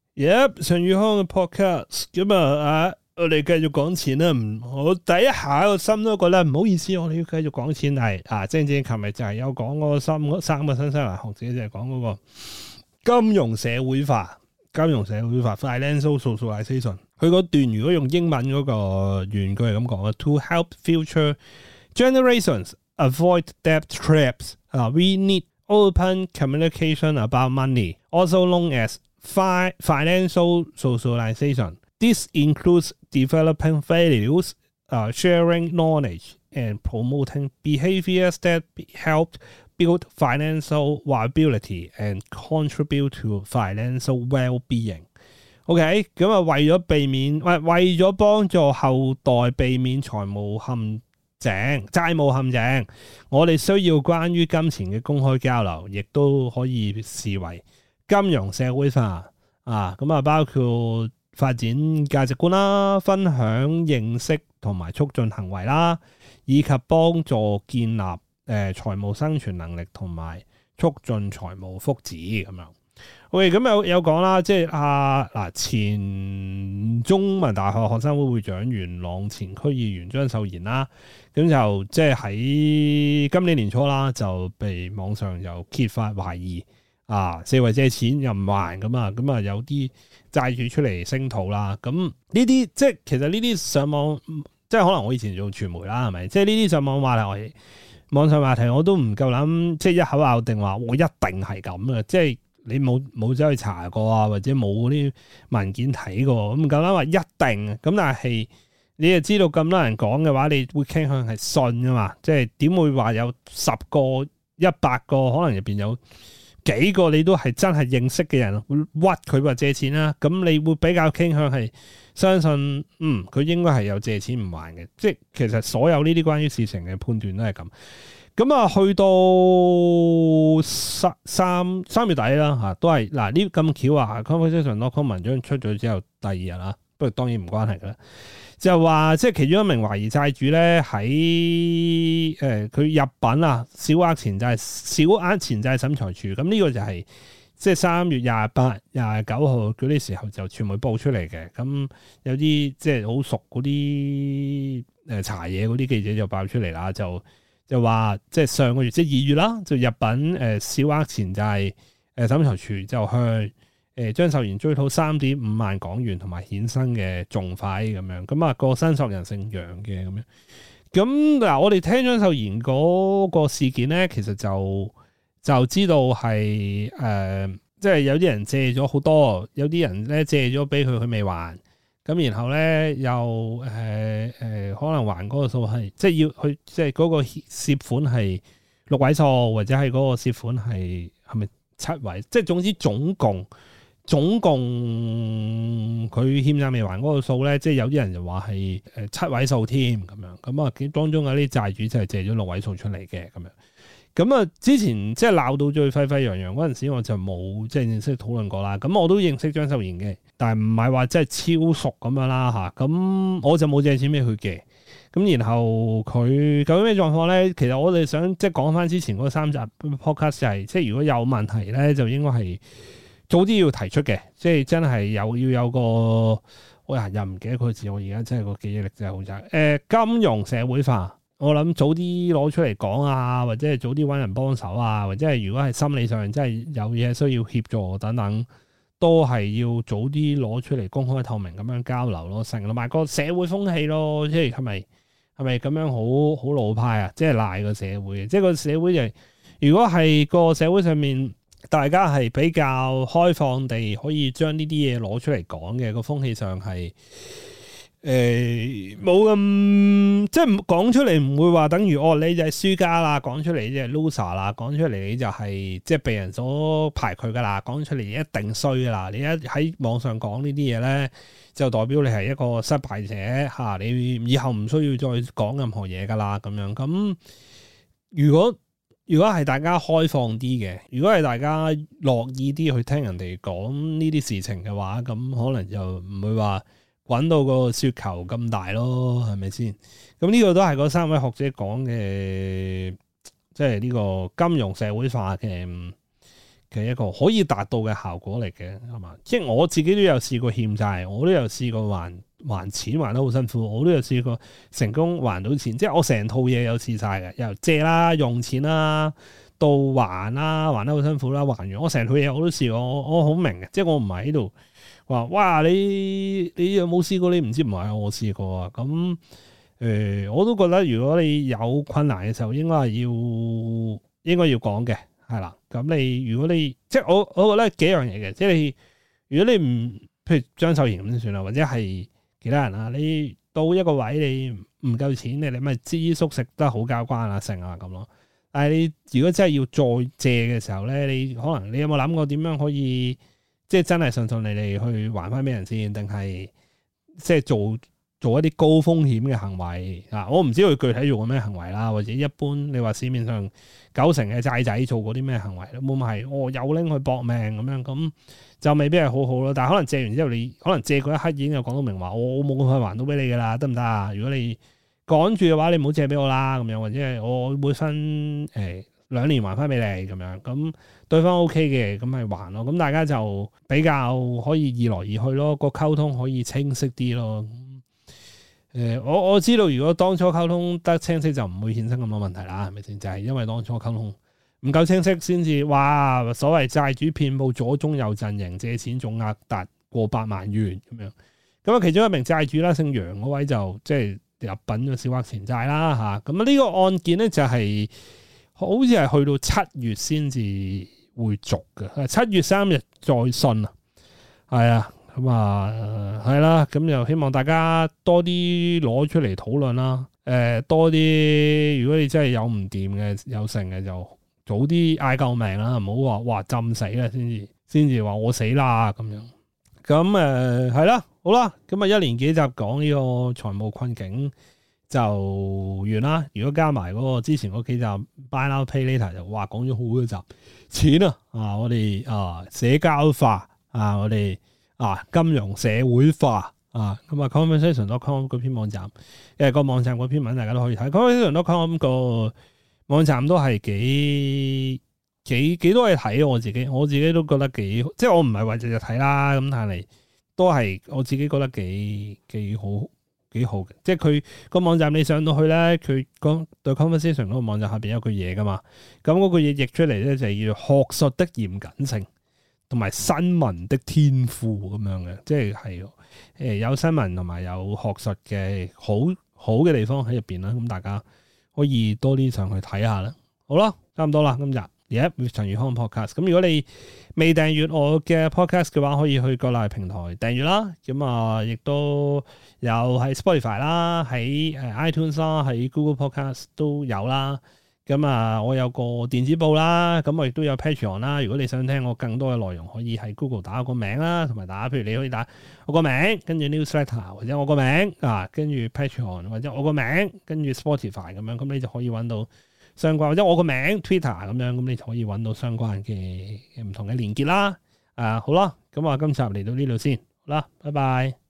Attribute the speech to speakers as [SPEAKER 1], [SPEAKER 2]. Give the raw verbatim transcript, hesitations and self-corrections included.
[SPEAKER 1] Yep， 陳宇康嘅 podcast 咁啊，啊，我哋繼續講錢啦。唔，我第一下個心都覺得唔好意思，我哋要繼續講錢係啊。正正琴日就係有講嗰個三三個新西蘭學者就係講嗰個金融社會化，金融社會化 financial socialization。佢嗰段如果用英文嗰個原句係咁講嘅 ，to help future generations avoid debt traps，啊 ，we need open communication about money, also known as financial socialization. This includes developing values, uh, sharing knowledge, and promoting behaviors that help build financial viability and contribute to financial well-being. OK， 咁啊，為咗避免，為為咗幫助後代避免財務陷阱、債務陷阱，我哋需要關於金錢嘅公開交流，亦都可以視為金融社會化啊，咁啊包括發展價值觀啦、分享認識同埋促進行為啦，以及幫助建立誒、呃、財務生存能力同埋促進財務福祉咁樣。OK， 咁有有講啦，即係啊嗱，前中文大學學生會會長元朗前區議員張秀賢啦，咁就即係喺今年年初啦，就被網上又揭發懷疑。啊！四圍借錢又唔還咁啊，咁啊有啲債主出嚟聲討啦。咁呢啲即係其實呢啲上網，即係可能我以前做傳媒啦，係咪？即係呢啲上網話題，網上話題我都唔夠膽，即係一口咬定話我一定係咁嘅。即係你冇冇走去查過啊，或者冇嗰啲文件睇過，咁唔夠膽話一定。咁但係你又知道咁多人講嘅話，你會傾向係信㗎嘛？即係點會話有十個、一百個，可能入邊有幾個你都係真係認識嘅人會屈佢話借錢啦，咁你會比較傾向係相信，嗯，佢應該係有借錢唔還嘅，即係其實所有呢啲關於事情嘅判斷都係咁。咁啊，去到三三三月底啦嚇，都係嗱呢咁巧啊 conversation dot com 文章出咗之後第二日啦，不過當然唔關係㗎啦。就話即係其中一名懷疑債主咧喺誒佢入稟啊小額錢債小額錢債審裁處，咁呢個就係即係三月廿八、廿九號嗰啲時候就傳媒報出嚟嘅。咁有啲即係好熟嗰啲誒查嘢嗰啲記者就爆出嚟啦，就就話即係上個月即係二月啦，就入稟誒小額錢債誒審裁處就向誒張秀賢追討三點五萬港元同埋衍生嘅訟費咁樣，咁啊個申索人姓楊嘅咁樣。咁嗱，我哋聽張秀賢嗰個事件咧，其實就就知道係誒、呃，即係有啲人借咗好多，有啲人咧借咗俾佢，佢未還。咁然後咧又誒誒、呃呃，可能還嗰個數係即係要去，即係嗰個涉款係六位數，或者係嗰個涉款係係咪七位？即係總之總共。總共佢欠債未還嗰個數咧，即係有啲人就話係誒七位數添咁樣，咁啊當中有啲債主就係借咗六位數出嚟嘅咁樣，咁啊之前即係鬧到最沸沸揚揚嗰陣時，我就冇即係正式討論過啦。咁我都認識張秀賢嘅，但係唔係話真係超熟咁樣啦嚇。咁我就冇借錢俾佢嘅。咁然後佢究竟咩狀況咧？其實我哋想即係講翻之前嗰三集 podcast 就係、是，即係如果有問題咧，就應該係早啲要提出嘅，即係真係有要有個，我又唔記得佢字，我而家真係個記憶力真係好差。誒、呃，金融社會化，我諗早啲攞出嚟講啊，或者係早啲揾人幫手啊，或者係如果係心理上真係有嘢需要協助等等，都係要早啲攞出嚟公開透明咁樣交流咯，成同埋個社會風氣咯，即係係咪係咪咁樣好好老派啊？即係賴個社會，即係個社會就係，如果係個社會上面。大家係比較開放地可以將呢啲嘢攞出嚟講嘅，個風氣上係誒冇咁，即係講出嚟唔會話等於哦你就係輸家啦，講出嚟你就係 loser 啦，講出嚟你就係即係被人所排拒噶啦，講出嚟一定衰噶啦，你一喺網上講呢啲嘢咧，就代表你係一個失敗者嚇、啊，你以後唔需要再講任何嘢噶啦咁樣。咁如果如果係大家開放啲嘅，如果係大家樂意啲去聽人哋講呢啲事情嘅話，咁可能就唔會話滾到個雪球咁大咯，係咪先？咁呢個都係嗰三位學者講嘅，即係呢個金融社會化嘅嘅一個可以達到嘅效果嚟嘅，係嘛？即係我自己都有試過欠債，我都有試過還還錢還得好辛苦，我都有試過成功還到錢，即係我成套嘢有試晒嘅，由借啦、用錢啦到還啦，還得好辛苦啦，還完我成套嘢我都試過，我我好明嘅，即係我唔係喺度話哇你你有冇試過？你唔知唔係我試過啊，咁誒、呃、我都覺得如果你有困難嘅時候，應該係要應該要講嘅。係啦，咁你如果你即係我，我覺得幾樣嘢嘅，即係你如果你唔，譬如張秀賢咁先算啦，或者係其他人啊，你到一個位你唔夠錢，你你咪知足食得好交關啊，成啊咁咯。但係你如果真係要再借嘅時候咧，你可能你有冇諗過點樣可以即係真係順順利利去還翻俾人先，定係即係做？做一啲高風險嘅行為啊！我唔知佢具體做過咩行為啦，或者一般你話市面上九成嘅債仔做過啲咩行為咧？冇咪係我有拎去搏命咁樣，咁就未必係好好咯。但係可能借完之後，你可能借嗰一刻已經有講到明話，我我冇咁快還到俾你噶啦，得唔得啊？如果你趕住嘅話，你唔好借俾我啦，咁樣或者係我會分誒兩年還翻俾你咁樣，咁對方 OK 嘅，咁咪還咯。咁大家就比較可以易來易去咯，個溝通可以清晰啲咯。誒、呃，我我知道，如果當初溝通得清晰，就唔會衍生咁多問題啦，係咪先？就係、是、因為當初溝通唔夠清晰，先至哇，所謂債主遍佈左中右陣營，借錢總額達過百萬元咁樣。咁啊，其中一名債主啦，姓楊嗰位就即係入稟咗小額錢債啦嚇。咁啊，呢個案件咧就係、是、好似係去到七月先至會續嘅，七月三日再訊啊，係啊。咁啊，係啦，咁又希望大家多啲攞出嚟討論啦。誒、呃，多啲，如果你真係有唔掂嘅，有剩嘅，就早啲嗌救命啦，唔好話哇浸死啦，先至先至話我死啦咁樣。咁誒係啦，好啦，咁啊一連幾集講呢個財務困境就完啦。如果加埋嗰個之前嗰幾集 Buy Now Pay Later 就哇講咗好多集錢啊，啊我哋啊社交化啊我哋。啊，金融社會化啊，咁啊 conversation dot com 嗰篇網站，誒個網站嗰篇文大家都可以睇。conversation dot com 個網站都係幾幾幾多嘢睇，我自己我自己都覺得幾，即係我唔係話日日睇啦，咁但係都係我自己覺得幾幾好幾好嘅。即係佢個網站你上到去咧，佢講對 conversation 嗰個網站下邊有句嘢噶嘛，咁嗰句嘢譯出嚟咧就係叫做學術的嚴謹性。同埋新聞的天賦咁樣嘅，即係係誒有新聞同埋有學術嘅好好嘅地方喺入邊啦。咁大家可以多啲上去睇下啦。好啦，差唔多啦，今日而家陳宇康 podcast。咁如果你未訂閱我嘅 podcast 嘅話，可以去各大平台訂閱啦。咁啊，亦都有喺 Spotify 啦，喺誒 iTunes 啦，喺 Google Podcast 都有啦。咁啊，我有個電子報啦，咁我亦都有 Patreon 啦。如果你想聽我更多嘅內容，可以喺 Google 打我個名啦，同埋打，譬如你可以打我個名，跟住 Newsletter 或者我個名啊，跟住 Patreon 或者我個名，跟住 Spotify 咁樣，咁你就可以揾到相關，或者我個名 Twitter 咁樣，咁你就可以揾到相關嘅唔同嘅連結啦。啊，好啦，咁我今集嚟到呢度先，好啦，拜拜。